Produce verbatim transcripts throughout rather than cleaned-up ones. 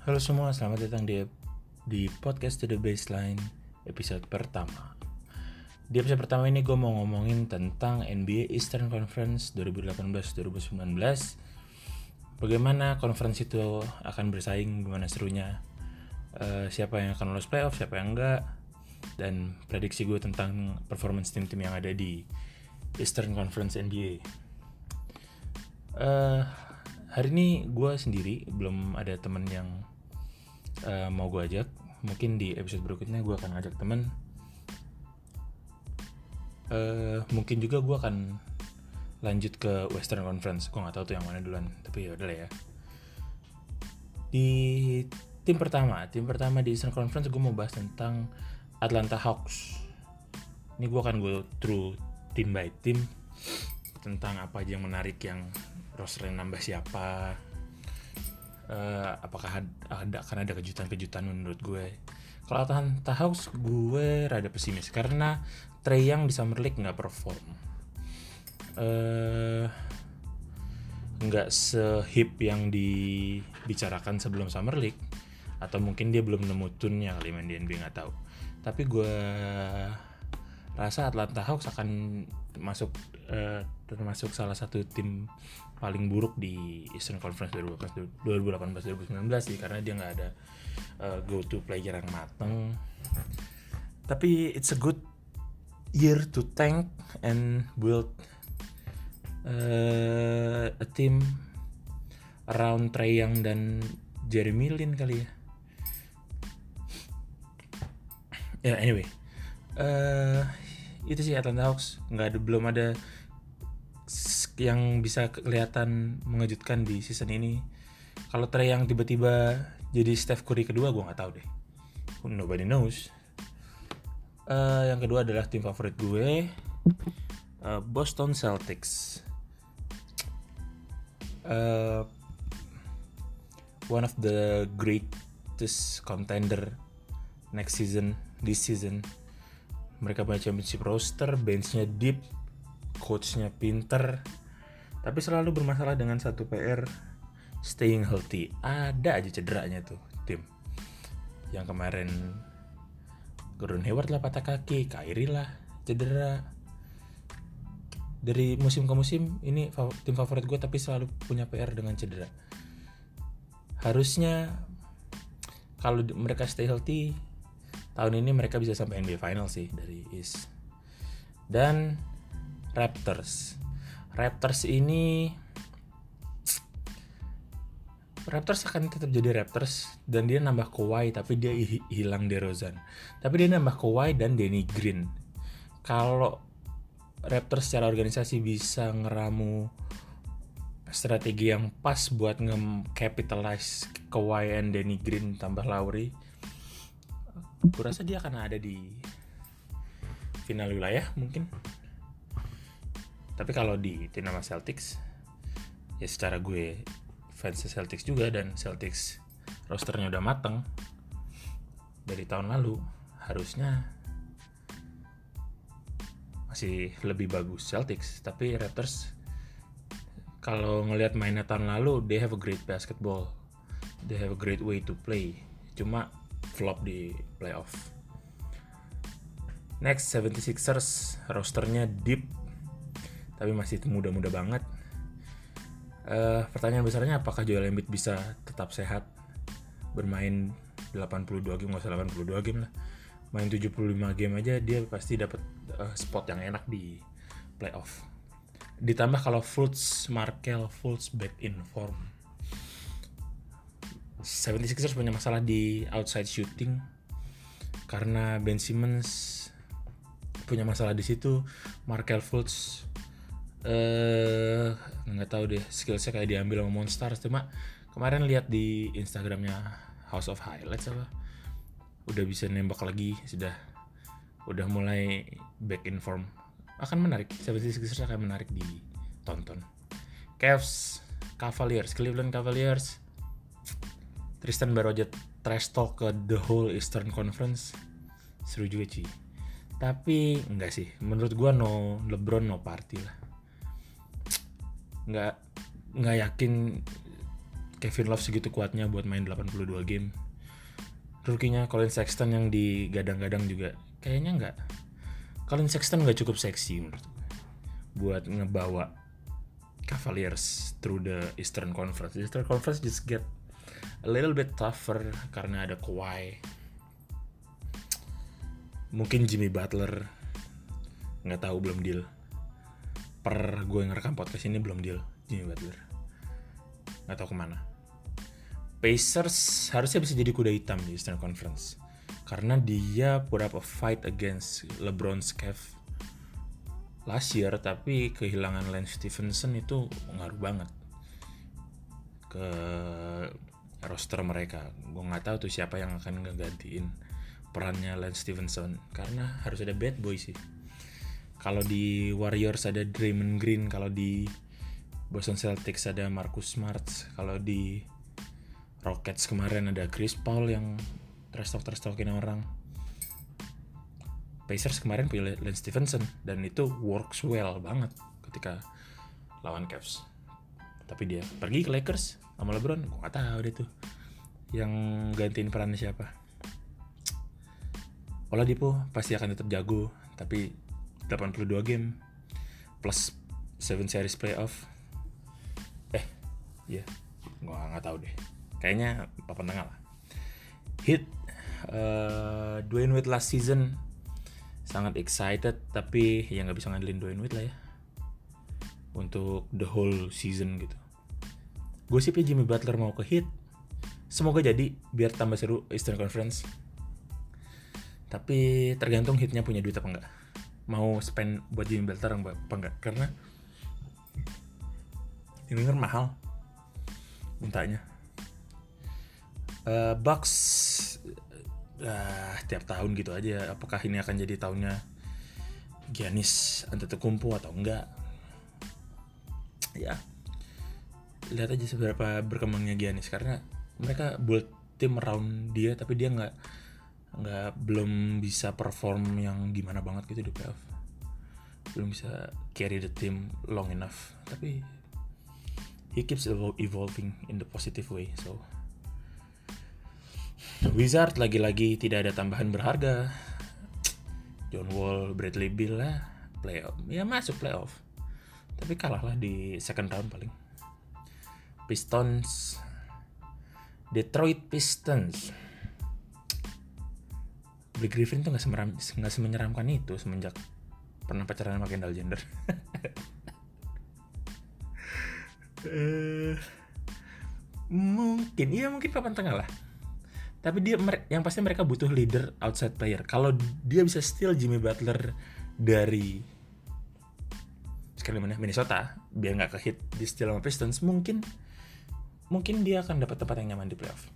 Halo semua, selamat datang di di podcast To The Baseline episode pertama. Di episode pertama ini gue mau ngomongin tentang N B A Eastern Conference dua ribu delapan belas dua ribu sembilan belas. Bagaimana conference itu akan bersaing, gimana serunya, uh, siapa yang akan lolos playoff, siapa yang enggak, dan prediksi gue tentang performance tim-tim yang ada di Eastern Conference N B A. Uh, hari ini gue sendiri, belum ada temen yang Uh, mau gue ajak. Mungkin di episode berikutnya gue akan ajak temen. uh, Mungkin juga gue akan lanjut ke Western Conference. Gue gak tahu tuh yang mana duluan, tapi ya udah lah ya. Di tim pertama Tim pertama di Eastern Conference gue mau bahas tentang Atlanta Hawks. Ini gue akan go through team by team, tentang apa aja yang menarik, yang rosternya nambah siapa, Uh, apakah ada akan ada kejutan-kejutan menurut gue. Kalau Atlanta Hawks gue rada pesimis karena Trae Young di Summer League nggak perform, uh, nggak sehip yang dibicarakan sebelum Summer League, atau mungkin dia belum nemu tune-nya kali main di N B A, nggak tahu. Tapi gue rasa Atlanta Hawks akan masuk uh, termasuk salah satu tim paling buruk di Eastern Conference dua ribu delapan belas dua ribu sembilan belas sih, karena dia nggak ada uh, go to player yang mateng. Tapi it's a good year to tank and build uh, a team around Trae Young dan Jeremy Lin kali ya. Ya yeah, anyway, uh, itu sih Atlanta Hawks. Nggak ada, belum ada yang bisa kelihatan mengejutkan di season ini. Kalau Trae yang tiba-tiba jadi Steph Curry kedua, gue nggak tahu deh. Nobody knows. Uh, yang kedua adalah tim favorit gue, uh, Boston Celtics. Uh, one of the greatest contender next season, this season. Mereka punya championship roster, benchnya deep, coachnya pinter, tapi selalu bermasalah dengan satu P R, staying healthy. Ada aja cederanya tuh tim. Yang kemarin Gordon Hayward lah patah kaki, Kyrie lah cedera. Dari musim ke musim ini tim favorit gue tapi selalu punya P R dengan cedera. Harusnya kalau mereka stay healthy, tahun ini mereka bisa sampai N B A Final sih dari East. Dan Raptors. Raptors ini Raptors akan tetap jadi Raptors, dan dia nambah Kawhi tapi dia hilang DeRozan. Tapi dia nambah Kawhi dan Danny Green. Kalau Raptors secara organisasi bisa ngeramu strategi yang pas buat nge-capitalize Kawhi and Danny Green tambah Lowry, gue rasa dia akan ada di final wilayah mungkin. Tapi kalau di tim nama Celtics, ya secara gue fans Celtics juga, dan Celtics rosternya udah mateng dari tahun lalu, harusnya masih lebih bagus Celtics. Tapi Raptors, kalau ngelihat mainnya tahun lalu, they have a great basketball, they have a great way to play, cuma flop di playoff. Next, seventy-sixers, rosternya deep tapi masih muda-muda banget. Uh, pertanyaan besarnya, apakah Joel Embiid bisa tetap sehat bermain delapan puluh dua game, nggak usah delapan puluh dua game lah, main tujuh puluh lima game aja dia pasti dapat uh, spot yang enak di playoff. Ditambah kalau Fultz, Markelle Fultz back in form. seventy-sixers punya masalah di outside shooting karena Ben Simmons punya masalah di situ. Markelle Fultz eh uh, nggak tahu deh, skillsnya kayak diambil sama Monstars. Cuma kemarin lihat di Instagramnya House of Highlights apa, udah bisa nembak lagi, sudah udah mulai back in form. Akan menarik, seventy-sixers akan menarik ditonton. Cavs, Cavaliers, Cleveland Cavaliers. Tristan baru aja trash talk ke the whole Eastern Conference, seru juga sih. Tapi enggak sih, menurut gua no LeBron no party lah. Nggak nggak yakin Kevin Love segitu kuatnya buat main delapan puluh dua game. Rookie-nya Colin Sexton yang digadang-gadang juga kayaknya nggak. Colin Sexton nggak cukup seksi menurut gue buat ngebawa Cavaliers through the Eastern Conference. The Eastern Conference just get a little bit tougher karena ada Kawhi. Mungkin Jimmy Butler, nggak tahu, belum deal. Per gue ngerekam podcast ini belum deal Jimmy Butler. Nggak tahu kemana. Pacers harusnya bisa jadi kuda hitam di Eastern Conference karena dia put up a fight against LeBron's Cavs last year, tapi kehilangan Lance Stephenson itu ngaruh banget ke roster mereka. Gue nggak tahu tuh siapa yang akan ngegantiin perannya Lance Stephenson karena harus ada bad boy sih. Kalau di Warriors ada Draymond Green, kalau di Boston Celtics ada Marcus Smart, kalau di Rockets kemarin ada Chris Paul yang trash talk trash talkin orang. Pacers kemarin pilih Lance Stephenson dan itu works well banget ketika lawan Cavs. Tapi dia pergi ke Lakers sama LeBron, gue gak tahu deh tuh yang gantiin perannya siapa. Oladipo pasti akan tetap jago, tapi delapan puluh dua game plus tujuh series playoff. Eh, iya, yeah. gue gak tahu deh. Kayaknya papan tengah lah. Heat, uh, Dwayne Wade last season sangat excited, tapi ya nggak bisa ngandelin Dwayne Wade lah ya untuk the whole season gitu. Gosipnya Jimmy Butler mau ke Heat, semoga jadi biar tambah seru Eastern Conference. Tapi tergantung Heatnya punya duit apa enggak, mau spend buat Jimmy Butler apa enggak, karena ini kan mahal mintanya. Uh, Bucks uh, tiap tahun gitu aja. Apakah ini akan jadi tahunnya Giannis Antetokounmpo atau enggak? Ya, lihat aja seberapa berkembangnya Giannis, karena mereka build tim around dia, tapi dia nggak nggak belum bisa perform yang gimana banget gitu di playoff, belum bisa carry the team long enough. Tapi he keeps evolving in the positive way. So Wizard lagi-lagi tidak ada tambahan berharga. John Wall, Bradley Beal lah, playoff, ya masuk playoff, tapi kalah lah di second round paling. Pistons, Detroit Pistons. Blake Griffin tuh nggak semeram, nggak semenyeramkan itu semenjak pernah pacaran sama Kendall Jenner. uh, mungkin, iya mungkin papan tengah lah. Tapi dia, yang pasti mereka butuh leader outside player. Kalau dia bisa steal Jimmy Butler dari sekali mana Minnesota, biar nggak ke hit di steal sama Pistons, mungkin mungkin dia akan dapat tempat yang nyaman di playoff.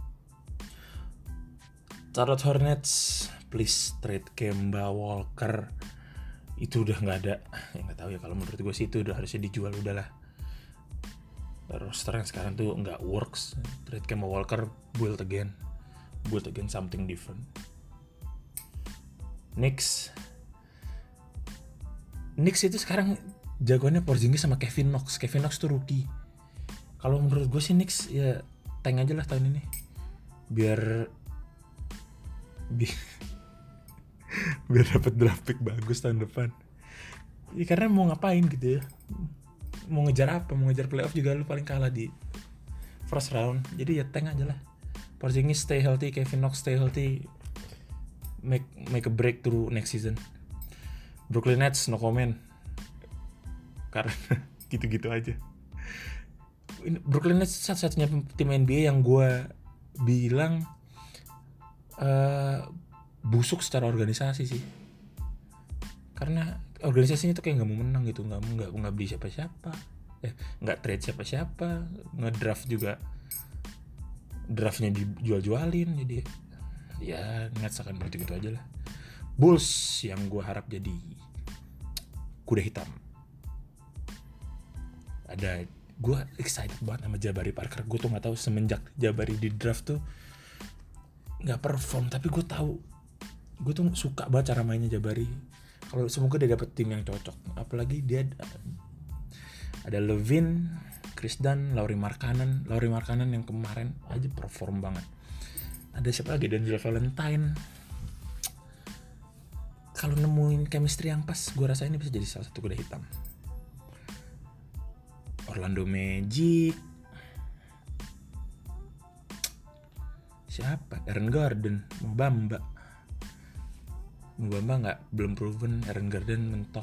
Charlotte Hornets, please trade Kemba Walker. Itu udah nggak ada. Ya nggak tahu ya, kalau menurut gue sih itu udah harusnya dijual udahlah. Roster yang sekarang tuh nggak works. Trade Kemba Walker, build again. Build again something different. Knicks Knicks itu sekarang jagoannya Porzingis sama Kevin Knox. Kevin Knox tuh rookie. Kalau menurut gue sih Knicks ya tank aja lah tahun ini, biar bi- biar dapat draft pick bagus tahun depan. Ya karena mau ngapain gitu ya, mau ngejar apa, mau ngejar playoff juga lu paling kalah di first round. Jadi ya tank aja lah. Porzingis stay healthy, Kevin Knox stay healthy, make make a breakthrough next season. Brooklyn Nets no comment, karena gitu-gitu aja. Brooklyn Nets satu-satunya tim N B A yang gue bilang uh, busuk secara organisasi sih, karena organisasinya tuh kayak nggak mau menang gitu, nggak nggak nggak beli siapa-siapa, eh nggak trade siapa-siapa, ngedraft juga draftnya dijual-jualin, jadi ya Nets akan begitu-gitu aja lah. Bulls yang gue harap jadi kuda hitam, ada, gue excited banget sama Jabari Parker. Gue tuh nggak tahu semenjak Jabari di draft tuh nggak perform, tapi gue tahu, gue tuh suka banget cara mainnya Jabari. Kalau semoga dia dapet tim yang cocok, apalagi dia ada Levine, Chris Dunn, Lauri Markkanen, Lauri Markkanen yang kemarin aja perform banget. Ada siapa lagi? D'Angelo Valentine. Kalau nemuin chemistry yang pas, gue rasa ini bisa jadi salah satu kuda hitam. Orlando Magic. Siapa? Aaron Gordon, Mo Bamba. Mo Bamba nggak, belum proven. Aaron Gordon mentok.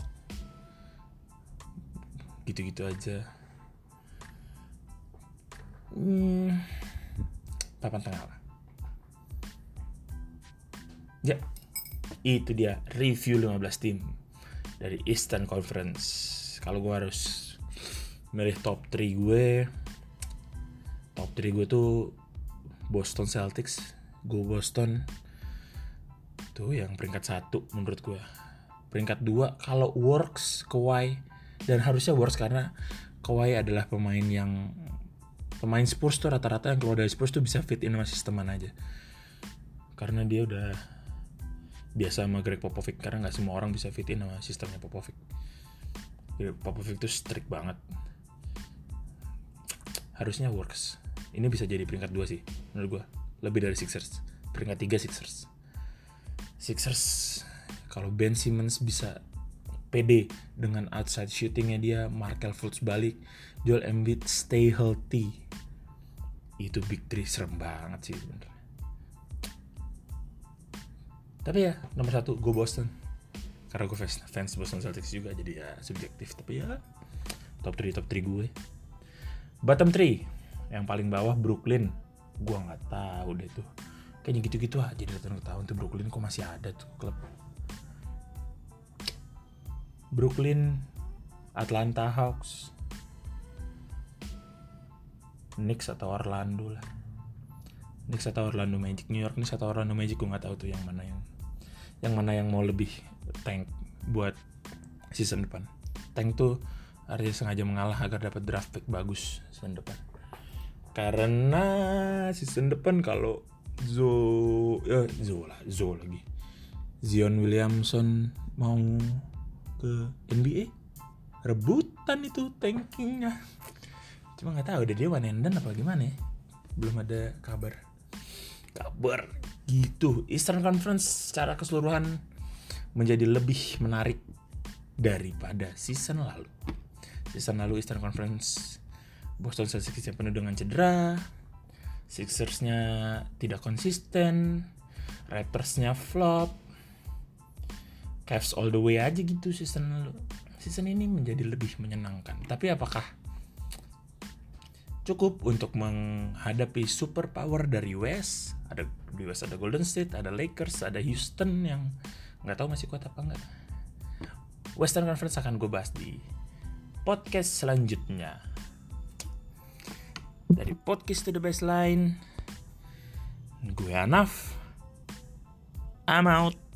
Gitu-gitu aja. Hmm, papan tengah lah. Ya, itu dia review lima belas tim dari Eastern Conference. Kalau gue harus milih top tiga gue, top tiga gue tuh Boston Celtics. Gue Boston tuh yang peringkat satu menurut gue. Peringkat dua kalau works Kawhi, dan harusnya works karena Kawhi adalah pemain yang pemain Spurs tuh rata-rata yang keluar dari Spurs tuh bisa fit in sama sisteman aja. Karena dia udah biasa sama Greg Popovich, karena nggak semua orang bisa fit in sama sistemnya Popovich. Popovich tuh strict banget. Harusnya works. Ini bisa jadi peringkat dua sih menurut gue, lebih dari Sixers. Peringkat tiga Sixers. Sixers kalau Ben Simmons bisa pede dengan outside shootingnya dia, Markelle Fultz balik, Joel Embiid stay healthy, itu big three serem banget sih bener. Tapi ya nomor satu gue Boston, karena gue fans, fans Boston Celtics juga, jadi ya subjektif. Tapi ya top tiga top tiga gue. Bottom tiga yang paling bawah Brooklyn, gue nggak tahu deh tuh, kayaknya gitu-gitu aja dari tahun ke tahun tuh Brooklyn kok masih ada tuh klub. Brooklyn, Atlanta Hawks, Knicks atau Orlando lah. Knicks atau Orlando Magic, New York Knicks atau Orlando Magic, gue nggak tahu tuh yang mana yang yang mana yang mau lebih tank buat season depan. Tank tuh artinya sengaja mengalah agar dapat draft pick bagus season depan. Karena season depan kalau Zo, ya Zo lah, Zo lagi, Zion Williamson mau ke N B A, rebutan itu tankingnya. Cuma nggak tahu deh dia one and done apa gimana ya, belum ada kabar. Kabar gitu. Eastern Conference secara keseluruhan menjadi lebih menarik daripada season lalu. Season lalu Eastern Conference Boston Celtics yang penuh dengan cedera, Sixers-nya tidak konsisten, Raptors-nya flop, Cavs all the way aja gitu season lalu. Season ini menjadi lebih menyenangkan. Tapi apakah cukup untuk menghadapi super power dari West? Ada di West ada Golden State, ada Lakers, ada Houston yang nggak tahu masih kuat apa enggak. Western Conference akan gue bahas di podcast selanjutnya. Dari podcast to the baseline, gue Anaf, I'm out.